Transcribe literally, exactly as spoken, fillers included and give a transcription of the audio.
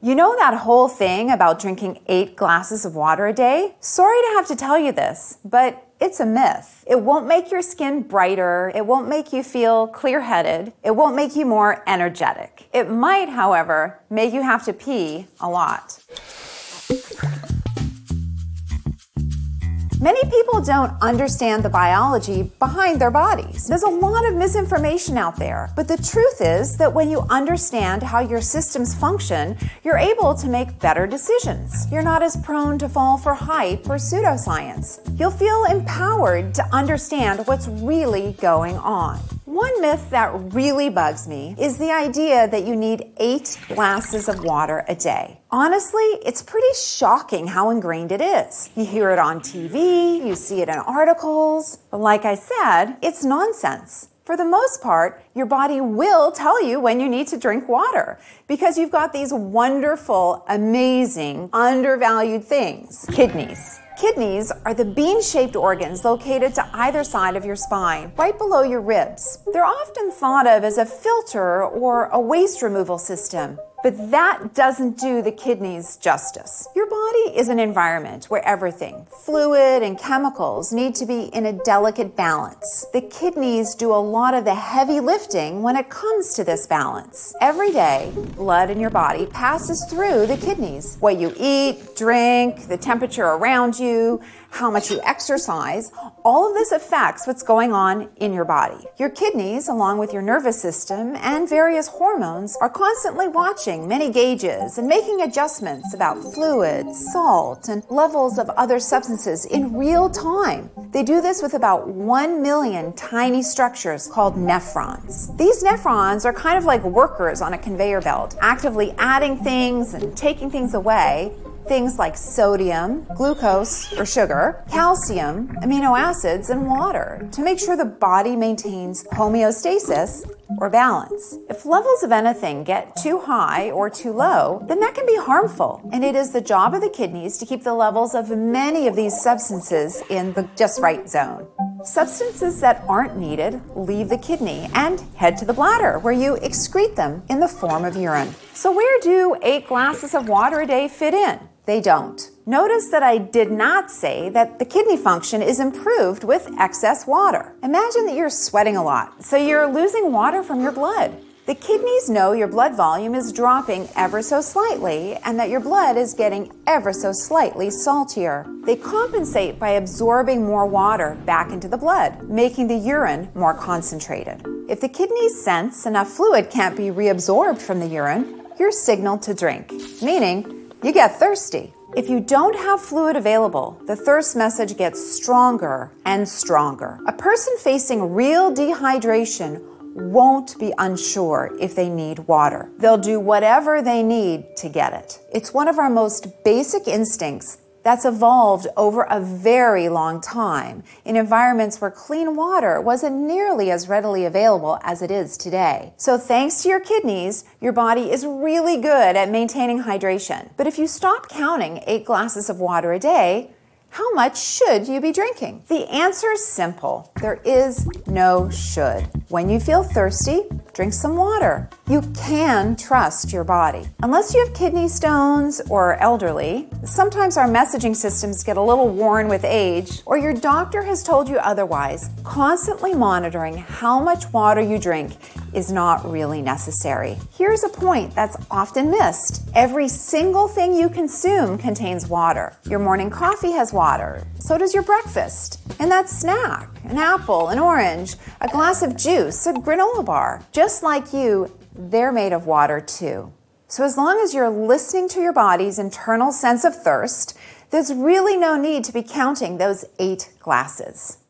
You know that whole thing about drinking eight glasses of water a day? Sorry to have to tell you this, but it's a myth. It won't make your skin brighter. It won't make you feel clear-headed. It won't make you more energetic. It might, however, make you have to pee a lot. Many people don't understand the biology behind their bodies. There's a lot of misinformation out there, but the truth is that when you understand how your systems function, you're able to make better decisions. You're not as prone to fall for hype or pseudoscience. You'll feel empowered to understand what's really going on. One myth that really bugs me is the idea that you need eight glasses of water a day. Honestly, it's pretty shocking how ingrained it is. You hear it on T V, you see it in articles, but like I said, it's nonsense. For the most part, your body will tell you when you need to drink water because you've got these wonderful, amazing, undervalued things, kidneys. Kidneys are the bean-shaped organs located to either side of your spine, right below your ribs. They're often thought of as a filter or a waste removal system, but that doesn't do the kidneys justice. Your body is an environment where everything, fluid and chemicals, need to be in a delicate balance. The kidneys do a lot of the heavy lifting when it comes to this balance. Every day, blood in your body passes through the kidneys. What you eat, drink, the temperature around you, how much you exercise, all of this affects what's going on in your body. Your kidneys, along with your nervous system and various hormones, are constantly watching many gauges and making adjustments about fluids, salt, and levels of other substances in real time. They do this with about one million tiny structures called nephrons. These nephrons are kind of like workers on a conveyor belt, actively adding things and taking things away. Things like sodium, glucose or sugar, calcium, amino acids, and water to make sure the body maintains homeostasis or balance. If levels of anything get too high or too low, then that can be harmful, and it is the job of the kidneys to keep the levels of many of these substances in the just right zone. Substances that aren't needed leave the kidney and head to the bladder, where you excrete them in the form of urine. So where do eight glasses of water a day fit in? They don't. Notice that I did not say that the kidney function is improved with excess water. Imagine that you're sweating a lot, so you're losing water from your blood. The kidneys know your blood volume is dropping ever so slightly and that your blood is getting ever so slightly saltier. They compensate by absorbing more water back into the blood, making the urine more concentrated. If the kidneys sense enough fluid can't be reabsorbed from the urine, you're signaled to drink, meaning you get thirsty. If you don't have fluid available, the thirst message gets stronger and stronger. A person facing real dehydration won't be unsure if they need water. They'll do whatever they need to get it. It's one of our most basic instincts that's evolved over a very long time in environments where clean water wasn't nearly as readily available as it is today. So thanks to your kidneys, your body is really good at maintaining hydration. But if you stop counting eight glasses of water a day, how much should you be drinking? The answer is simple. There is no should. When you feel thirsty, drink some water. You can trust your body. Unless you have kidney stones or are elderly, sometimes our messaging systems get a little worn with age, or your doctor has told you otherwise, constantly monitoring how much water you drink is not really necessary. Here's a point that's often missed. Every single thing you consume contains water. Your morning coffee has water. So does your breakfast. And that snack, an apple, an orange, a glass of juice, a granola bar. Just like you, they're made of water too. So as long as you're listening to your body's internal sense of thirst, there's really no need to be counting those eight glasses.